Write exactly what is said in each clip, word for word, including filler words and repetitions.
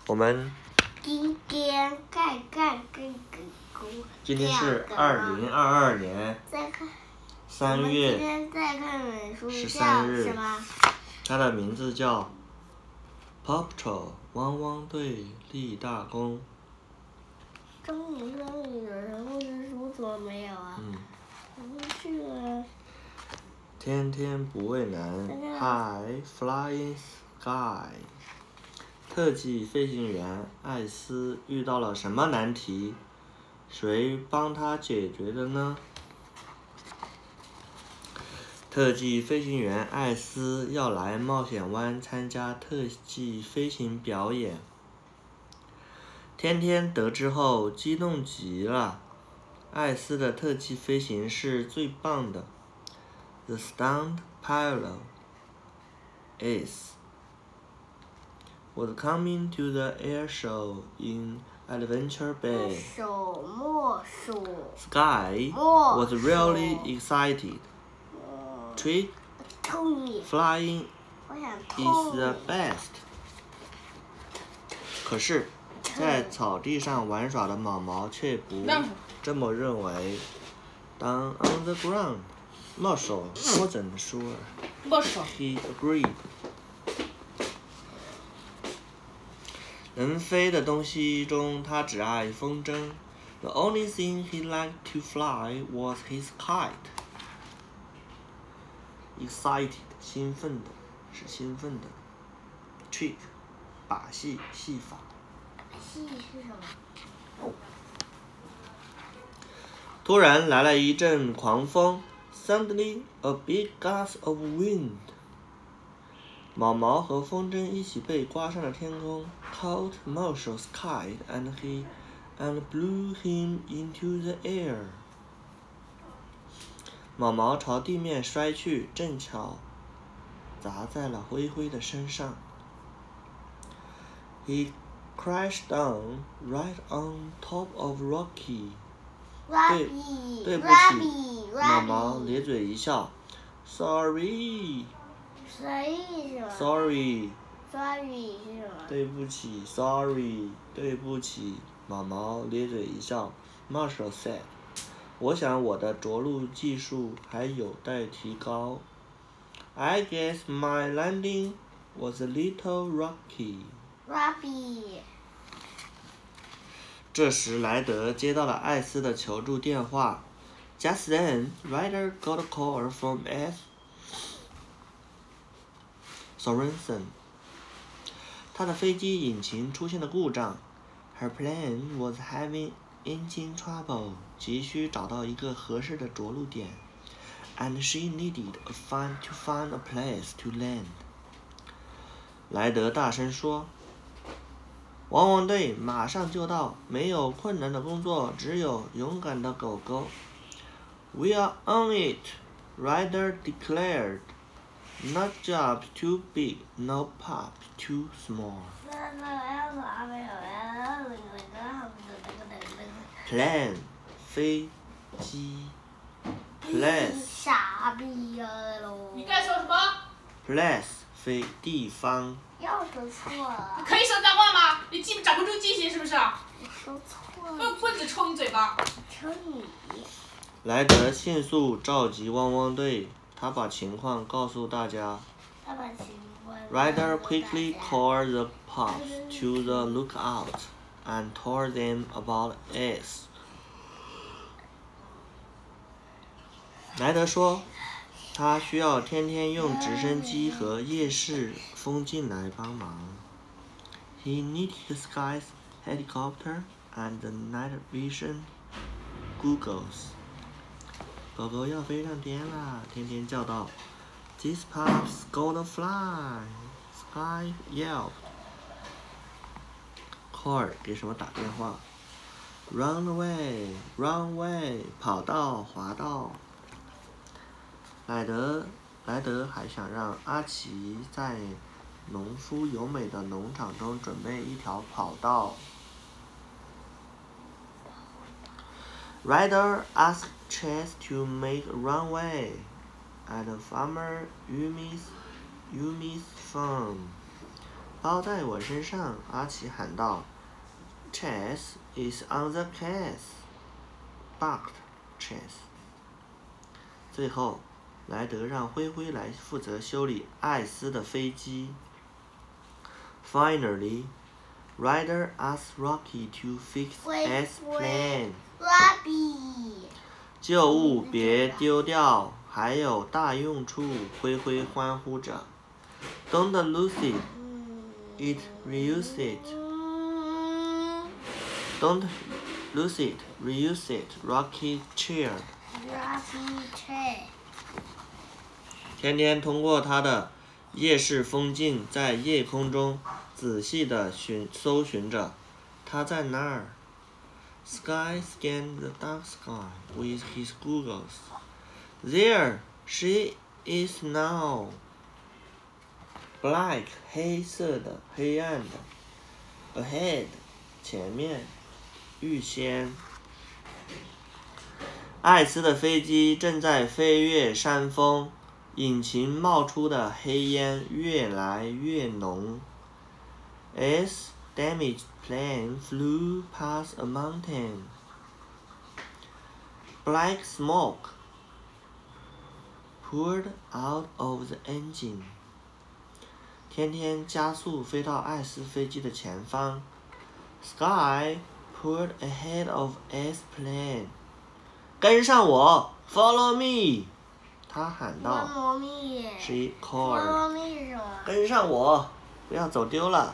我们今天看看这个故今天是二零二二年再看三我们今月天再看本书十叫三日什么？ 它的名字叫 Paw Patrol 汪汪队立大功。 中文书里有人物之书怎么没有啊？ 嗯， 不是啊。 天天不畏难 ，High Flying Sky。特技飞行员艾斯遇到了什么难题？谁帮他解决的呢？特技飞行员艾斯要来冒险湾参加特技飞行表演。天天得知后激动极了，艾斯的特技飞行是最棒的。The stunt pilot Ace was coming to the air show in Adventure 墨 Bay. 手墨手 Sky 墨 was really excited. 墨 Trick 偷你， flying 我想 is 偷 the 你。 best. 可是，在草地上玩耍的毛毛却不这么认为。Down on the ground, Marshall wasn't sure. He agreed. 能飞的东西中，他只爱风筝。The only thing he liked to fly was his kite. Excited, 兴奋的，是兴奋的。Trick, 把戏，戏法。 戏是什么？ 突然来了一阵狂风 ，Suddenly a big gust of wind. 毛毛和风筝一起被刮上了天空 ，caught Marshall's kite and he and blew him into the air. 毛毛朝地面摔去，正巧砸在了灰灰的身上。He crashed down right on top of Rocky. 对，对不起，毛毛咧嘴一笑。Sorry. 谁是什么 Sorry. ？Sorry 是什么？ 对不起 ，Sorry， 对不起，毛毛咧嘴一笑。Marshall said， 我想我的着陆技术还有待提高。I guess my landing was a little rocky. Robbie。 这时，莱德接到了艾斯的求助电话。Just then, Ryder got a call from S. Sorensen. 他的飞机引擎出现了故障。Her plane was having engine trouble. 急需找到一个合适的着陆点。And she needed a find to find a place to land. 莱德大声说。汪汪队马上就到，没有困难的工作，只有勇敢的狗狗。We are on it, Ryder declared. No job too big, no pup too small. Plan 飞机 Place 傻逼呀喽！ 你刚才说什么？ Place 飞地方。 又说错了。 可以说脏话吗？你记掌不住记性是不是？ 我说错了。 用棍子抽你嘴巴！ 抽你！ 莱德迅速召集汪汪队，他把情况告诉大家。 他把情况。 Ryder quickly called the pups to the lookout and told them about Ace. 莱德说，他需要天天用直升机和夜视风镜来帮忙。He needed the Sky's helicopter and the night vision goggles. 狗狗要飞上天啦！天天叫道 ，These pups gonna fly! Sky yelled. Call 给什么打电话 ？Run away! Run away! 跑道，滑道。莱德，莱德还想让阿奇在农夫优美的农场中准备一条跑道。Ryder asked Chase to make a runway at Farmer Yumi's Yumi's farm. 包在我身上，阿奇喊道。Chase is on the case, barked Chase. 最后，莱德让灰灰来负责修理艾斯的飞机。Finally, Ryder asked Rocky to fix S plane. Rocky. 旧物别丢掉，还有大用处！灰灰欢呼着。Don't lose it, it reuse it. Don't lose it, reuse it. Rocky cheered. Rocky cheered. 天天通过他的夜视风镜，在夜空中仔细地寻搜寻着，他在那儿。Sky scanned the dark sky with his goggles. There she is now. Black 黑色的，黑暗的。Ahead 前面，预先。艾斯的飞机正在飞越山峰，引擎冒出的黑烟越来越浓。S damaged plane flew past a mountain. Black smoke poured out of the engine. 天天加速飞到艾斯飞机的前方。Sky poured ahead of S plane. 跟上我 ，Follow me！ 他喊道。 Follow me. She called. Follow me 是什么？ 跟上我，不要走丢了。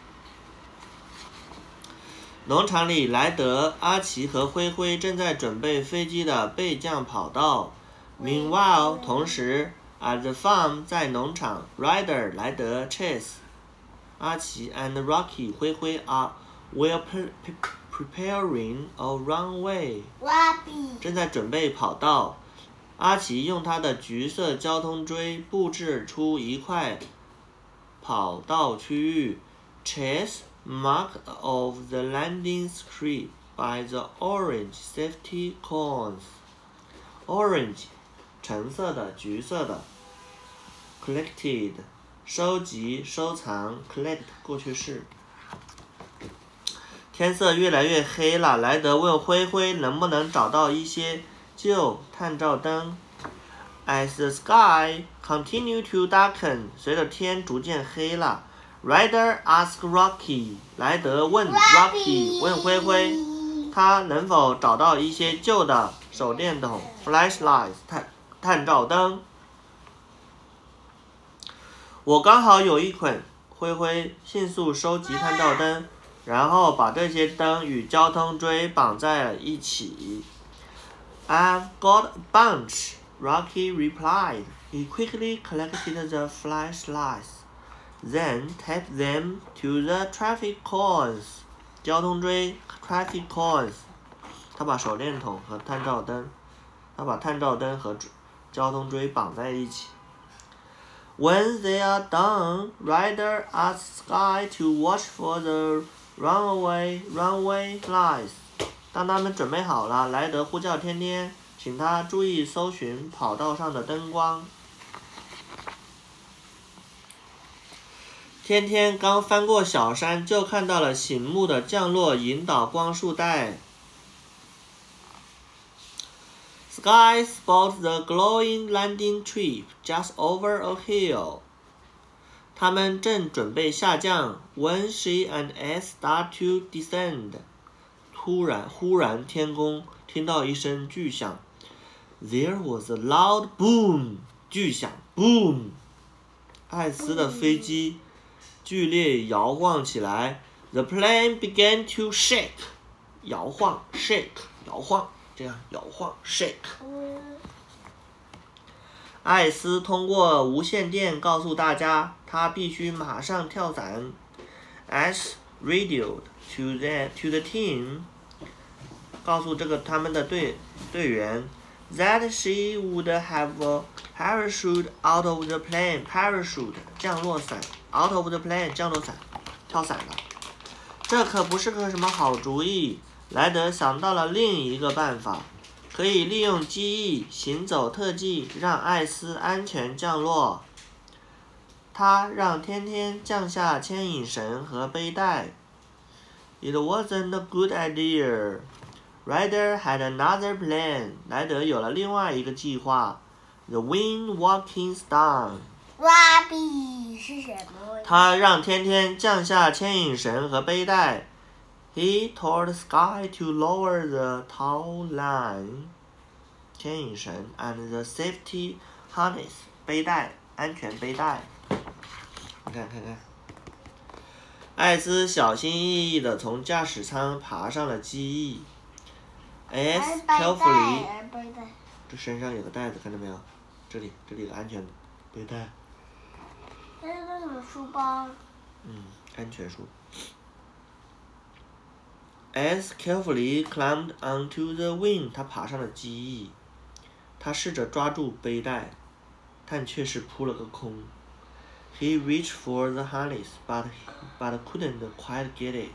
农场里，莱德、阿奇和灰灰正在准备飞机的备降跑道。Meanwhile， 同时 ，at the farm 在农场 ，Ryder 莱德、Chase 阿奇 and Rocky 灰灰 are were pre preparing a runway. Rocky. 正在准备跑道。阿奇用他的橘色交通锥布置出一块跑道区域。Chase marked off the landing strip by the orange safety cones. Orange 橙色的，橘色的。Collected 收集收藏 collect 过去式。天色越来越黑了，莱德问灰灰能不能找到一些旧探照灯。As the sky continued to darken， 随着天逐渐黑了 ，Ryder asked Rocky， 莱德问 Rocky， 问灰灰，他能否找到一些旧的手电筒 （flashlights） 探探照灯。我刚好有一捆，灰灰迅速收集探照灯，然后把这些灯与交通锥绑在了一起。I've got a bunch, Rocky replied. He quickly collected the flashlights, then taped them to the traffic cones. 交通锥 traffic cones. 他把手电筒和探照灯，他把探照灯和交通锥绑在一起。When they are done, Ryder asked Sky to watch for the runway runway lights. 当他们准备好了，莱德呼叫天天，请他注意搜寻跑道上的灯光。天天刚翻过小山，就看到了醒目的降落引导光束带。Sky spotted the glowing landing strip just over a hill. 他们正准备下降 when she and S start to descend. 突然，忽然天空听到一声巨响。There was a loud boom. 巨响 boom. 艾斯的飞机剧烈摇晃起来。The plane began to shake. 摇晃 shake 摇晃，这样摇晃 shake。艾斯通过无线电告诉大家，他必须马上跳伞。S radioed to the to the team， 告诉这个他们的队队员 that she would have a parachute out of the plane. Parachute 降落伞 out of the plane 降落伞，跳伞了。这可不是个什么好主意。莱德想到了另一个办法。可以利用机翼行走特技，让艾斯安全降落。 他让天天降下牵引绳和背带。It wasn't a good idea. Ryder had another plan. 莱德有了另外一个计划。The wind walking star. Rabbit 是什么？ 他让天天降下牵引绳和背带。He told Sky to lower the tow line. 牵引绳 and the safety harness. 背带，安全背带。你看看看。艾斯小心翼翼地从驾驶舱爬上了机翼。S carefully， 这身上有个袋子，看到没有？这里，这里有个安全背带。 那是个什么书包？ 嗯，安全书。S carefully climbed onto the wing， 他爬上了机翼。他试着抓住背带，但却是扑了个空。He reached for the harness, but but couldn't quite get it.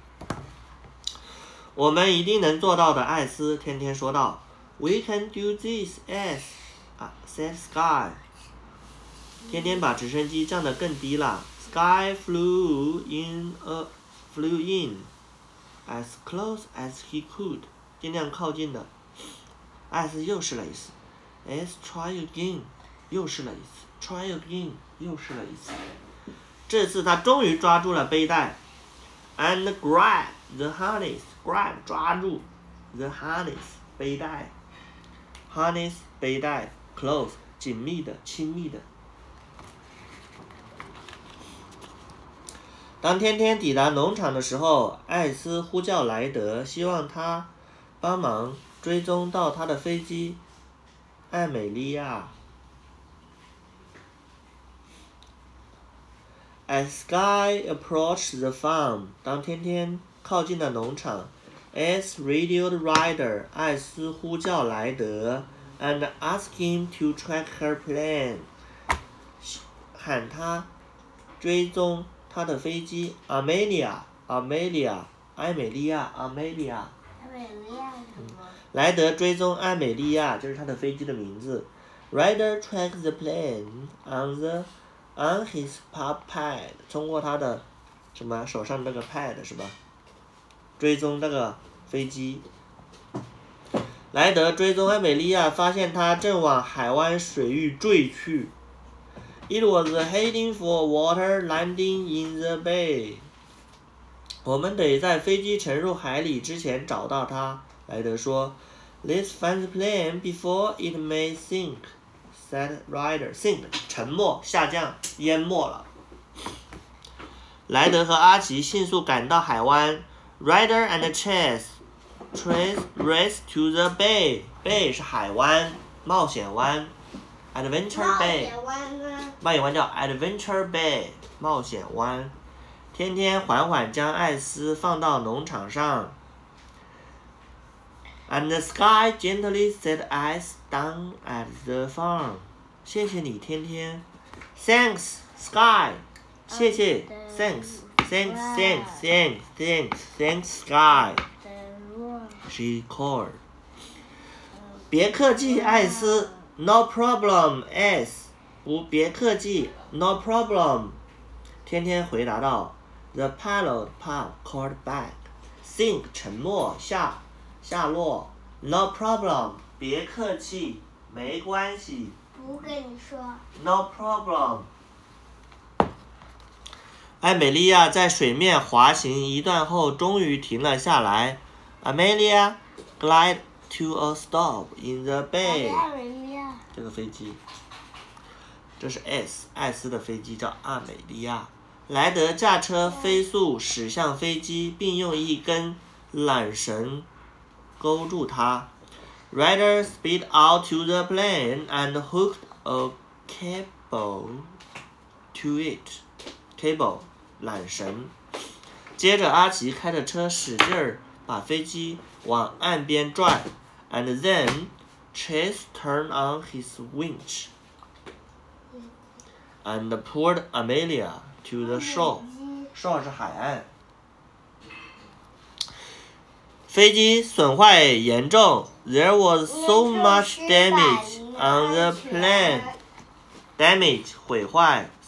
我们一定能做到的，艾斯天天说道。We can do this, S. 啊 ，said Sky. 天天把直升机降得更低了。Sky flew in a flew in as close as he could. 尽量靠近的。艾斯又试了一次。S try again. 又试了一次。Try again. 又试了一次。这次他终于抓住了背带。And grab the harness. Grab 抓住 the harness 背带。Harness 背带 close 紧密的亲密的。当天天抵达农场的时候，艾斯呼叫莱德，希望他帮忙追踪到他的飞机艾美利亚。As Sky approached the farm， 当天天靠近了农场 ，S radioed Ryder， 艾斯呼叫莱德 ，and asked him to track her plane， 喊他追踪他的飞机 Amelia，Amelia， 艾美利亚 ，Amelia。 艾美利亚什么？ 莱德追踪艾美利亚，这是他的飞机的名字。Ryder tracked the plane on the on his pad， 通过他的什么手上那个 pad 是吧？追踪那个飞机。莱德追踪艾美利亚，发现他正往海湾水域坠去。It was heading for water, landing in the bay。我们得在飞机沉入海里之前找到它。莱德说 ，Let's find the plane before it may sink。said Ryder. Sink 沉没下降淹没了。莱德和阿奇迅速赶到海湾。Ryder and Chase trace race to the bay. Bay 是海湾，冒险湾。Adventure Bay。 冒险湾呢？ 冒险湾叫 Adventure Bay， 冒险湾。天天缓缓将艾斯放到农场上。And the Sky gently set ice down at the farm. 谢谢你，天天。Thanks, Sky. 谢谢 ，Thanks, thanks, thanks, thanks, thanks, thanks, Sky. She called. 别客气，艾斯。No problem, S. 不，别客气 ，No problem. 天天回答道。The pilot pup called back. Sink 沉没下。下落 ，No problem， 别客气，没关系。 不跟你说。 No problem。艾美利亚在水面滑行一段后，终于停了下来。Amelia glided to a stop in the bay。这个飞机，这是 S 艾斯的飞机，叫阿美利亚。莱德驾车飞速驶向飞机，并用一根缆绳勾住它。Ryder sped out to the plane and hooked a cable to it. Cable 缆绳。接着阿奇开着车使劲儿把飞机往岸边转 ，and then Chase turned on his winch and pulled Amelia to the shore. Shore 是海岸。飞机损坏严重 ，There was so much damage on the plane. Damage 毁坏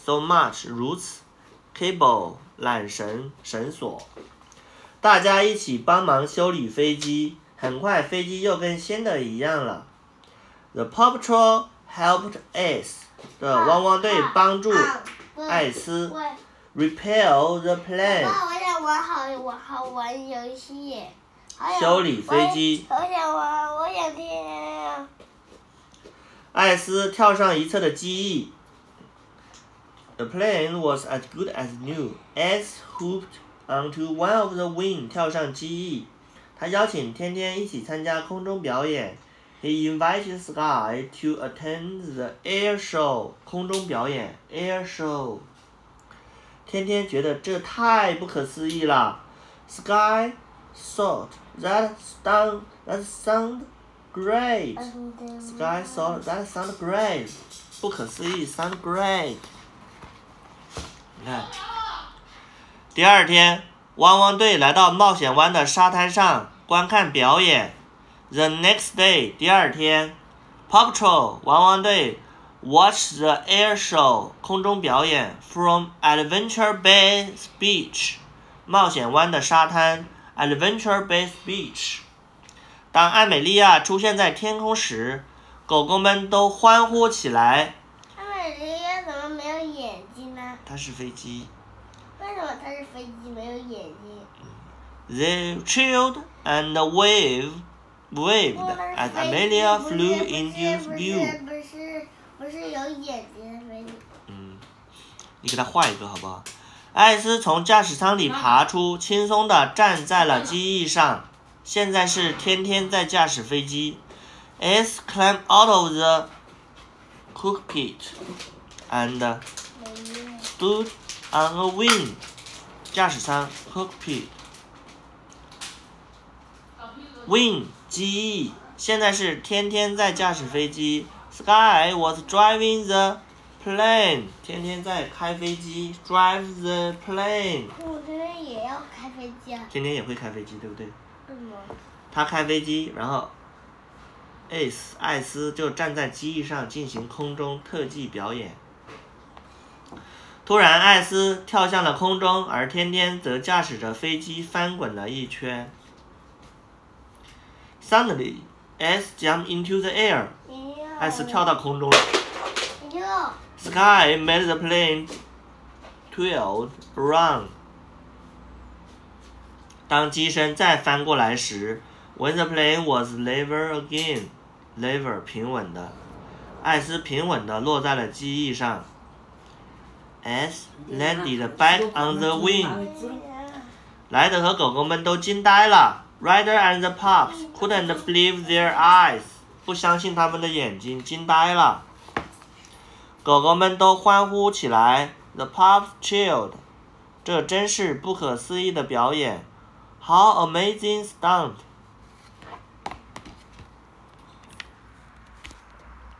so much 如此 cable 缆绳绳索。大家一起帮忙修理飞机，很快飞机又跟新的一样了。The Paw Patrol helped Ace 的汪汪队帮助艾斯 repair the plane 爸，我想玩好，我好玩游戏耶。 修理飞机。 我想玩，我想听。 艾斯跳上一侧的机翼。The plane was as good as new. Ace hopped onto one of the wings. 跳上机翼。他邀请天天一起参加空中表演。He invited Sky to attend the air show. 空中表演 air show。天天觉得这太不可思议了。Sky thought that sound that sound great. Sky thought that sound great. 不可思议 sound great。你看，第二天，汪汪队来到冒险湾的沙滩上观看表演。The next day， 第二天 ，Paw Patrol 汪汪队 watched the air show 空中表演 from Adventure Bay Beach 冒险湾的沙滩 Adventure Bay Beach。当艾美利亚出现在天空时，狗狗们都欢呼起来。 艾美利亚怎么没有眼睛呢？ 它是飞机。 为什么它是飞机没有眼睛？ They cheered and waved, waved as Amelia flew into view. 不是不是有眼睛的飞机。 嗯，你给它画一个好不好？艾斯从驾驶舱里爬出，轻松地站在了机翼上。现在是天天在驾驶飞机。Ace climbed out of the cockpit and stood on a wing. 驾驶舱 cockpit wing 机翼。现在是天天在驾驶飞机。Sky was driving the plane. 天天在开飞机 drive the plane. 我这边也要开飞机啊。 天天也会开飞机，对不对？ 为什么？ 他开飞机，然后 Ace 艾斯就站在机翼上进行空中特技表演。突然，艾斯跳向了空中，而天天则驾驶着飞机翻滚了一圈。Suddenly, Ace jumped into the air. 艾斯跳到空中了。Sky made the plane twirl around. 当机身再翻过来时 ，When the plane was level again, level 平稳的，艾斯平稳地落在了机翼上。Ace landed back on the wing. 莱德和狗狗们都惊呆了。Ryder and the pups couldn't believe their eyes. 不相信他们的眼睛，惊呆了。狗狗们都欢呼起来。The pups cheered. 这真是不可思议的表演。How amazing stunt!